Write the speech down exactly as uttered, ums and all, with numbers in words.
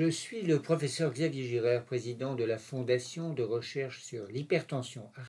Je suis le professeur Xavier Girard, président de la Fondation de recherche sur l'hypertension